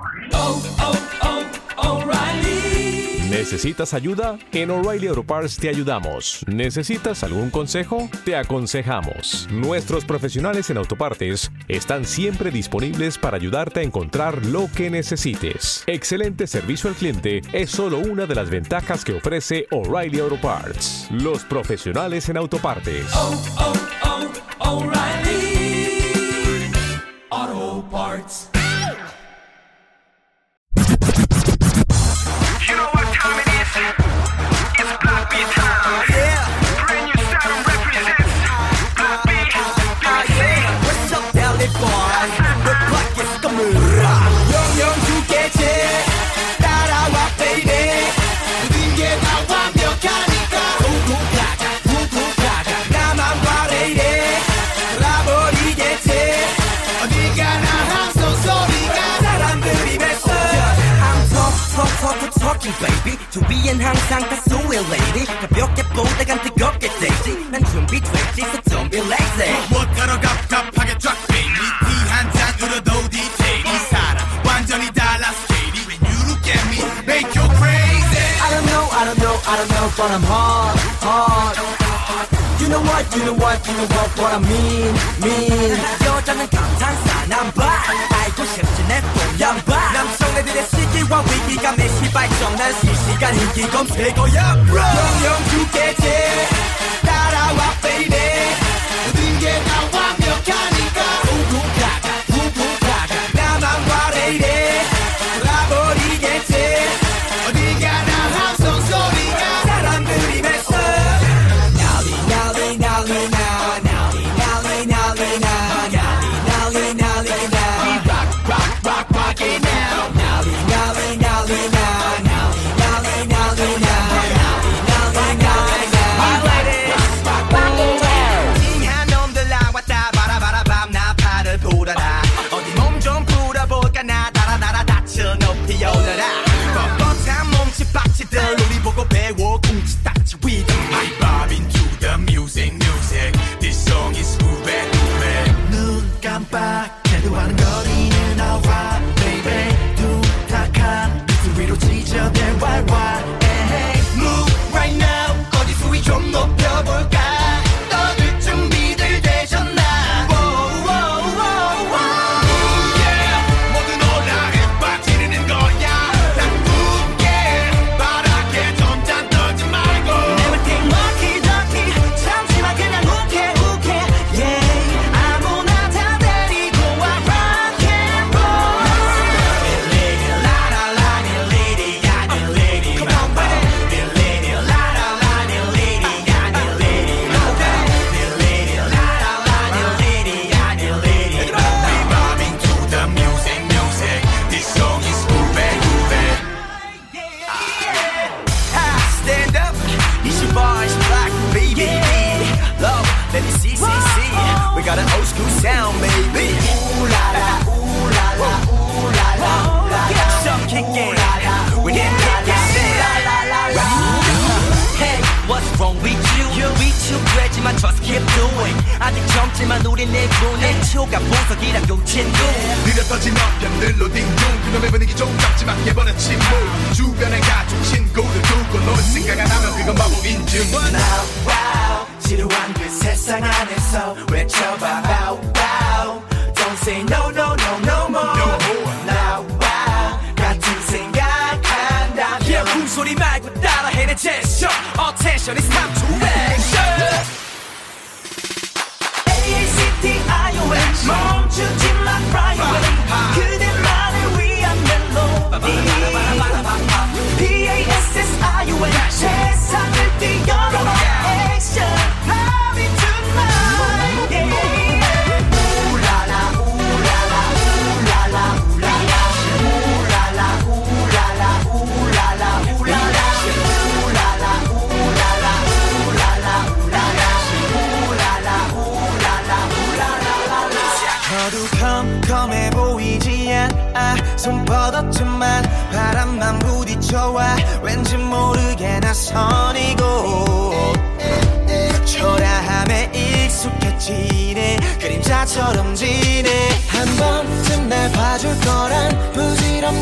O'Reilly. ¿Necesitas ayuda? En O'Reilly Auto Parts te ayudamos. ¿Necesitas algún consejo? Te aconsejamos. Nuestros profesionales en autopartes están siempre disponibles para ayudarte a encontrar lo que necesites. Excelente servicio al cliente es solo una de las ventajas que ofrece O'Reilly Auto Parts. Los profesionales en autopartes. O'Reilly Auto Parts. You know what time it is? It's Block B time. Yeah. Brand new sound represents Block B. What's up, Valley Boy? The clock is coming. 영영 두개째 따라와, baby. 모든 게 다 완벽하니까. 훅훅 가자. 나만 바래이래. 돌아버리겠지. 어디 가나 함성 소리가 사람들이 맺어. Talking baby 준비엔 항상 가수의 lady 가볍게 보다간 뜨겁게 되지 난 준비됐지 so don't be lazy 못하러 갑갑하게 drop baby 티 한 잔으로도 디테일이 살아 완전히 달라 스케일이 When you look at me make you crazy I don't know but I'm hard You know what I mean 여자는 감탄사 난봐 알고 싶지 내 뽀얀바 남성애들의 시기와 위기감의 시발점 난 실시간 인기 검색어야 bro 영영 두개째 따라와 baby 모든 게 다 완벽하니까 훅훅 가자 나만 바래이래 돌아버리겠지 어디 가나 함성 소리가 사람들이 맺어 우리 보고 배워 쿵치 딱지 위드 I bob into the music This song is moving 눈 깜빡해도 하는 거리는 alright baby 둔탁한 그 위로 지저대 왈왈 Move right now 거리 수위 좀 높여볼까 떠들 준비들 되셨나 모두 놀라 빠지르는 거야 난 굳게 바라게 점점 떠지 말고 Everything lucky 잠시만 그냥 욱해 Yeah 아무나 다 데리고 와 rock and roll Lady la la la lady 야 lady Come on baby Lady la la la lady 야 lady Lady la la la lady 야 lady We bobbing to the music This song is moving Stand up, it's your boy, it's Black baby. Love, let me see. We got an old school sound, baby. Ooh la la, ooh la la, ooh la la, ooh la la. Some kicking, we didn't kick it. Hey, what's wrong with you? We too great지만 just keep doing. 아직 젊지만 우린 내보내 초가 보석이란 고친구. 느렸어진 어편들로 딩동 그놈의 분위기 좀 잡지만 해버려 침묵 주변에 가족 친구들 두고 노는 생각 안 하면 그건 바보 인증 Now wow 지루한 그 세상 안에서 외쳐봐 bow wow Don't say no more Now wow 같은 생각한다 Yeah 숨소리 말고 따라해 내 제스처 Attention it's time to action AACTION 멈추지 마 right away 그대만을 위한 멜로디 PASSION 세상을 뛰어넘어 Action Party tonight yeah. Ooh-la-la, ooh-la-la, ooh-la-la, ooh-la-la Ooh-la-la, ooh-la-la, ooh-la-la, ooh-la-la Ooh-la-la, ooh-la-la, ooh-la-la, ooh-la-la Ooh-la-la, ooh-la-la, ooh-la-la 어두컴컴해 보이지 않아 손뻗었지만 바람만 부딪혀와 왠지 모르게 낯선이고 초라함에 익숙해지네 그림자처럼 지네 한 번쯤 날 봐줄 거란 부질없는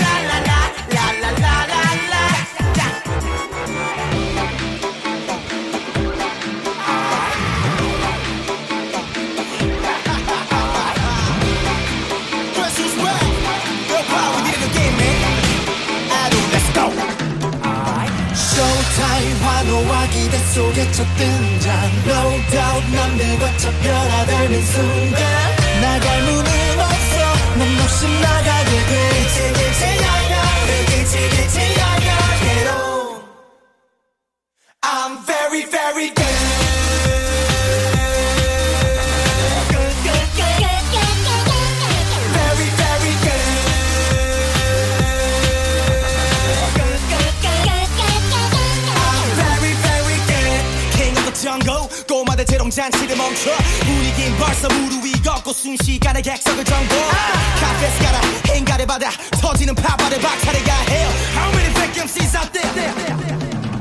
환호와 기대 속에 첫 등장 No doubt 남들과 차 변화되는 순간 나갈 문은 없어 넌 없이 나가게 돼 길지 나가 길지 나가 Get on I'm very very good 정고 꼬마들 재롱잔치를 멈춰 분위긴 벌써 무르 위 걷고 순식간에 객석을 정보 카페스 가라 행가를 받아 터지는 파바를 박차려야 해요 How many fake MCs out there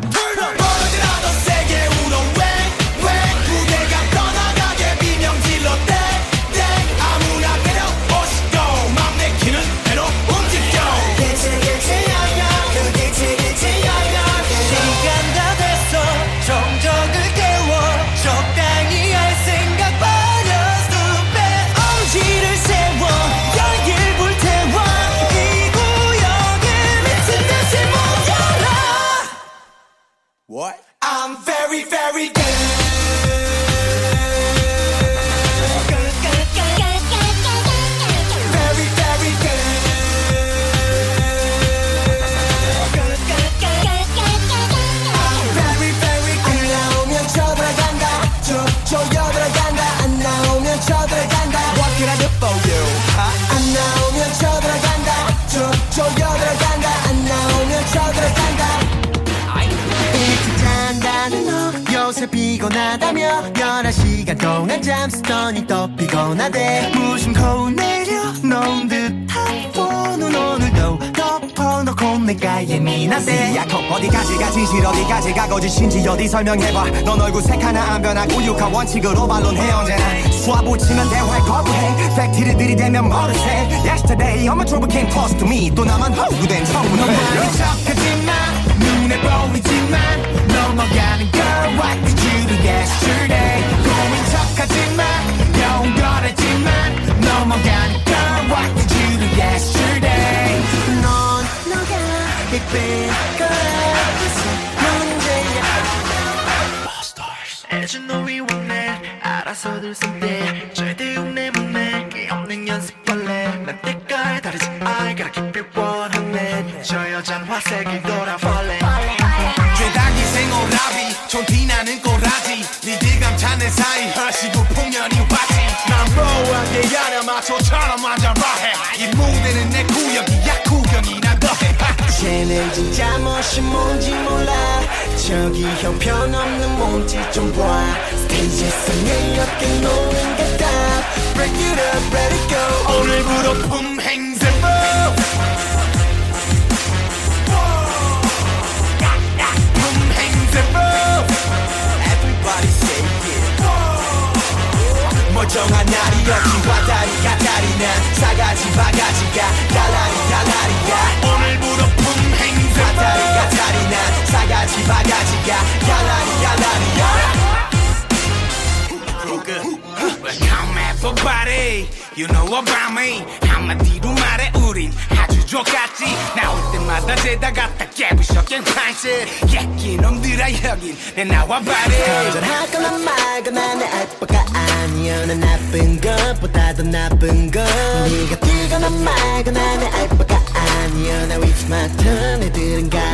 What? I'm very, very good. Very, very good. I'm very, very good. 안 나오면 쳐들어간다. 쪼여들어간다. 안 나오면 쳐들어간다. What can I do for you? 안 나오면 쳐들어간다. 쪼여들어간다. 안 나오면 쳐들어간다. 일찍 잔다는 너 요새 피곤하다며 11시간 동안 잠쓰더니 또 피곤하대. 무심코 내려놓은 듯한 폰은 오늘도 덮어놓고 내가 예민하대. 야코 어디까지 가 진실 어디까지 가 거짓인지 어디 설명해봐. 넌 얼굴 색 하나 안 변하고 육하 원칙으로 반론해 언제나. 수화 붙이면 대화에 거부해. 팩트를 들이대면 모르세. Yesterday all my trouble came close to me. 또 나만 허구된 청문회. 넌 많이 척하지만 눈에 보이지만 넘어가는 girl what did you do yesterday. 고민 척하지만 영원하지만 넘어가는 girl what did you do yesterday. 넌 너가 이쁜 거라서 문제야. As you know we want it 알아서들 선대 절대 흉내못 게 없는 연습벌레 난 때깔 다르지 I gotta keep it 100 저 여잔 화색을 돌아벌레 죄다기 생오라비 촌티나는 꼬라지 니들 감탄의 사이 허시고 풍년이 왔지 난 뭐하게 야냐 마초처럼 앉아봐해 이 무대는 내 구역이야 구경이나 더해 쟤는 진짜 멋이 뭔지 몰라. 저기 형편없는 몸짓 좀 봐. 스테이지에서 내 어깨 놓는 게 다. Break it up, let it go. 오늘부터 품행세법 품행세법 Everybody say it. 멀쩡한 날이 없지 왔다리가 다리나 사가지 바가지가 달라리 달라리야. 오늘부터 품행세법 왔다리가 다리나 사가지 바가지가 달라리 달라리야. Come everybody You know about me 한마디로 말해 우린 아주 똑같지 나올 때마다 죄다 갖다 깨부셔 깽판실 예끼 놈들아 여긴 내 나와봐리 건전하거나 말거나 내 알바가 아니야. 난 나쁜 것보다 더 나쁜 것. 네가 뛰거나 말거나 내 알바가 아니야. 나 위치 맡은 애들은 가